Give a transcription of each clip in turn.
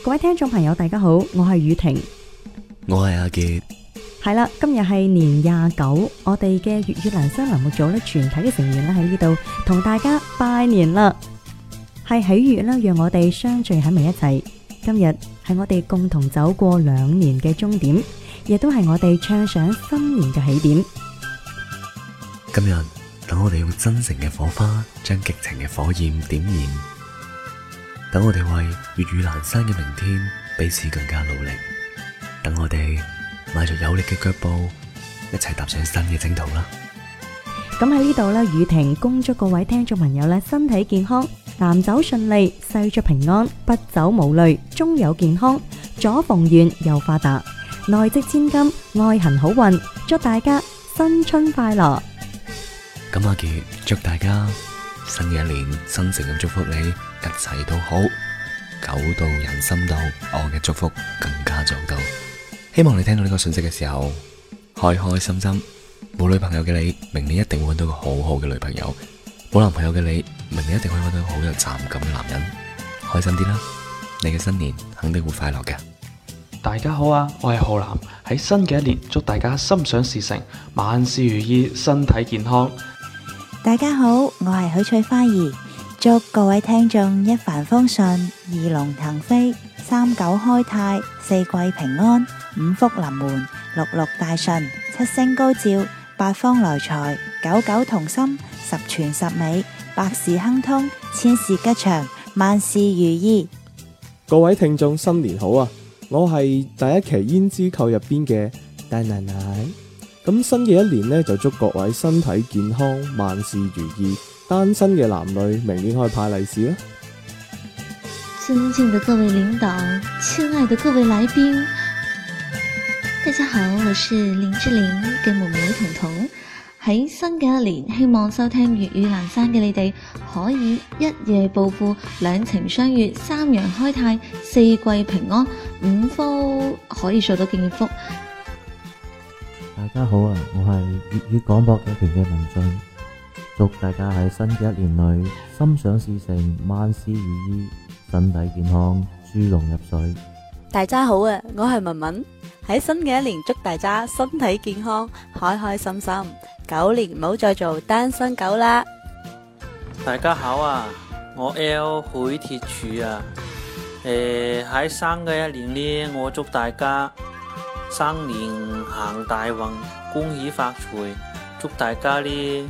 各位聽眾朋友大家好，我係宇婷， 我係阿杰。 係啦，今日係年29，我哋嘅粵語蘭生欄目組咧，全體嘅成員咧喺呢度同大家拜年啦，係喜悅啦，讓我哋相聚喺埋一齊。今日係我哋共同走過2年嘅終點，亦都係我哋暢想新年嘅起點。 今日等我哋用真誠嘅火花，將激情嘅火焰點燃。等我哋為粵語闌珊嘅明天彼此更加努力。等我哋邁着有力嘅腳步，一齊踏上新嘅征途啦！ 咁喺呢度咧，宇婷恭祝各位聽眾朋友咧身體健康，男走順利，細出平安，不走無慮，終有健康，左逢源右發達，內積千金，愛行好運，祝大家新春快樂！ 咁阿杰祝大家新嘅一年，真誠咁祝福你，一切都好，久到人心到，我嘅祝福更加早到。希望你聽到呢個信息嘅時候，開開心心。冇女朋友嘅你，明年一定會揾到個好好嘅女朋友；冇男朋友嘅你，明年一定可以揾到個好有責任感嘅男人。開心啲啦，你嘅新年肯定會快樂嘅。 大家好啊，我係浩南。喺新嘅一年，祝大家心想事成，萬事如意，身體健康。 大家好，我係許翠花兒，祝各位聽眾一帆風順，二龍騰飛，三九開泰，四季平安，五福臨門，六六大順，七星高照，八方來財，九九同心，十全十美，百事亨通，千事吉祥，萬事如意。 各位聽眾新年好啊！我係第一期胭脂扣入邊嘅大奶奶。咁新嘅一年呢，就祝各位身體健康，萬事如意。單身嘅男女明年可以派利是啦。 尊敬的各位領導，親愛的各位來賓，大家好，我是林志玲嘅妹妹彤彤。喺新嘅一年，希望收聽粵語闌珊嘅你哋可以一夜暴富，兩情相悅，三陽開泰，四季平安，五福可以做到健福。 大家好啊，我係粵語廣播劇團嘅文俊，祝大家喺新嘅一年裏心想事成，萬事如意，身體健康，豬籠入水。 大家好啊，我係文文，喺新嘅一年祝大家身體健康，開開心心，9年唔好再做單身狗啦。 大家好啊，我 L 許鐵柱啊，喺新嘅一年呢，我祝大家新年行大運，恭喜發財，祝大家呢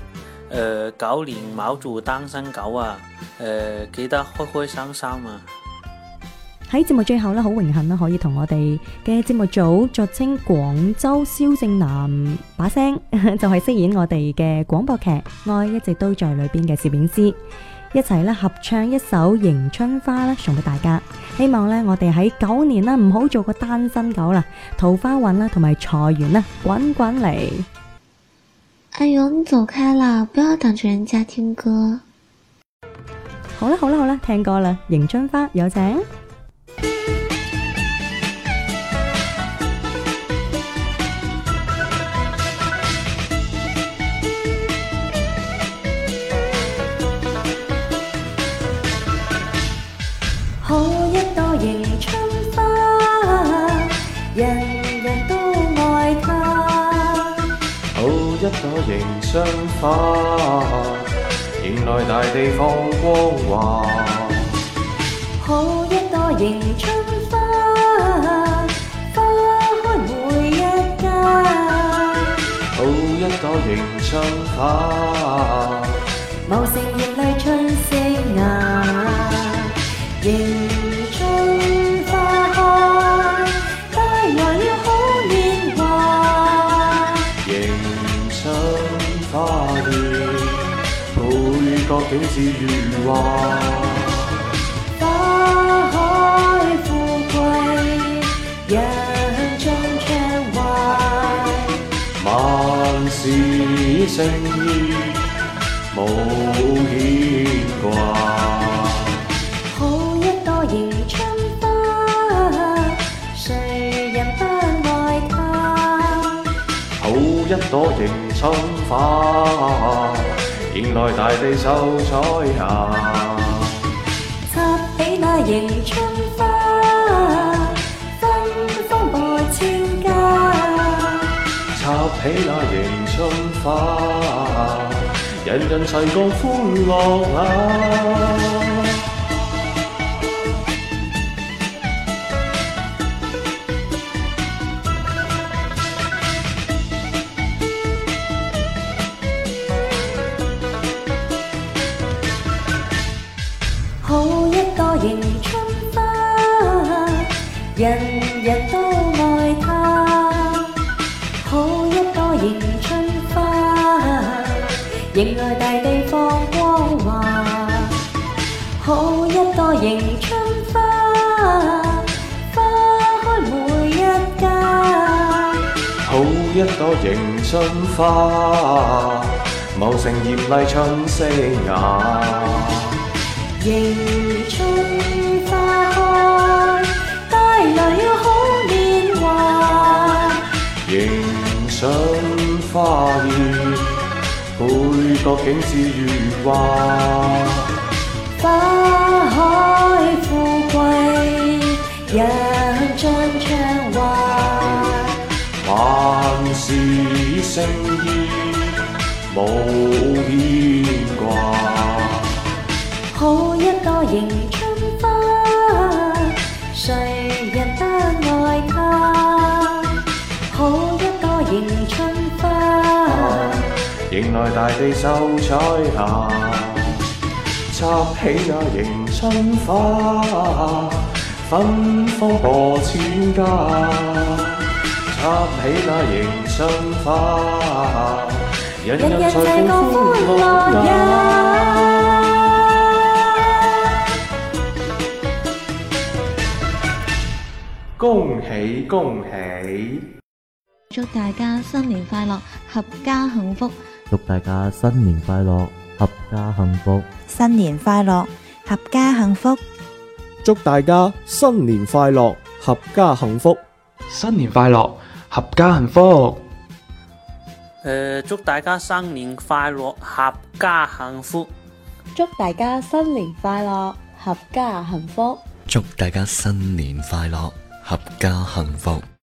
9年唔好做單身狗啊，記得開開心心啊！ 喺節目最後咧，好榮幸啦，可以同我哋嘅節目組俗稱廣州蕭正楠把聲，就係飾演我哋嘅廣播劇《愛一直都在》裏邊嘅攝影師，一齊咧合唱一首《迎春花》咧，送俾大家。希望咧我哋喺9年啦，唔好做個單身狗啦，桃花運啦同埋財源啦滾滾嚟。 哎呦，你走開啦，不要等住人家聽歌。 好啦好啦好啦，聽歌啦，《迎春花》有請。 好一朵迎春花，人人都愛它。 好一朵迎春花，迎來大地放光華。 好一朵迎春花，花開每一家。 好一朵迎春花， 茂盛艷麗春色雅。迎春花開，帶來了好年華。 迎春花現，配角景致如畫。 花開富貴，人中暢懷。 萬事勝意，無牽掛。 迎春花，誰人不愛它？ 好一朵迎春花，迎來大地秀彩霞。 插起那迎春花， 起那迎春花，人人齊共歡樂啊！ 好一朵迎春花，人人都愛它。好一朵迎春花，迎來大地放光華。好一朵迎春花，花開每一家。 好一朵迎春花，茂盛豔麗春色雅。 迎春花開，帶來了好年華。 迎春花熱，配角景致如畫。 花開富貴，人盡暢話。 萬事勝意，無牽掛。 好一朵迎春花，誰人不愛它？好一朵迎春花， 迎來大地秀彩霞。插起那迎春花，芬芳播千家。插起那迎春花，人人齊共歡樂呀！恭喜恭喜！ 祝大家新年快樂，合家幸福。 祝大家新年快樂，合家幸福。 新年快樂，合家幸福。 祝大家新年快樂，合家幸福。 新年快樂，合家幸福。 祝大家新年快樂，合家幸福。 祝大家新年快樂，合家幸福。 祝大家新年快樂，合家幸福。